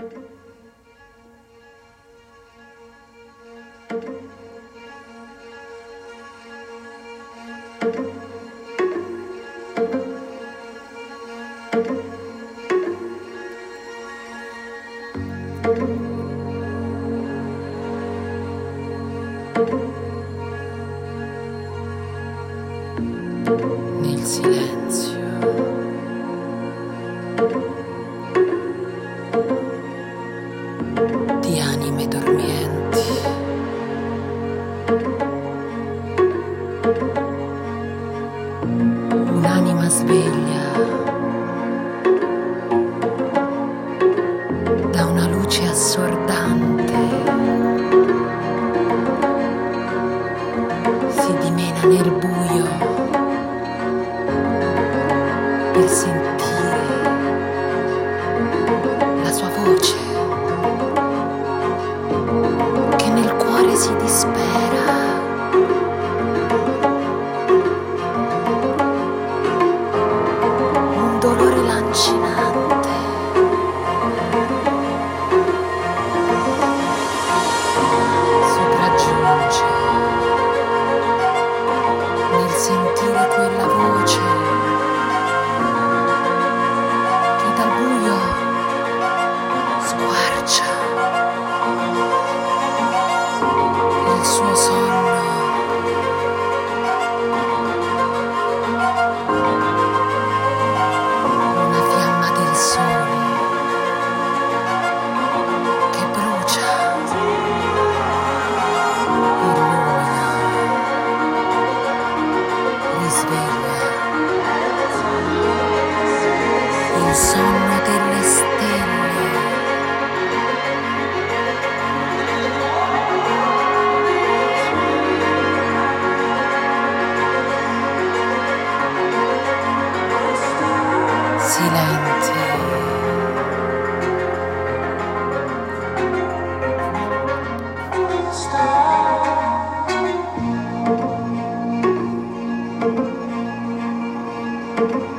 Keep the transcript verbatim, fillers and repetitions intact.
Nel silenzio di anime dormienti, un'anima sveglia da una luce assordante si dimena nel buio per sentire la sua voce che nel cuore si dispera. Un dolore lancinante sopraggiunge nel sentire quella voce che dal buio squarcia il suo sonno. Una fiamma del sole che brucia, illumina, risveglia il sonno delle stelle. Silenti, Stop.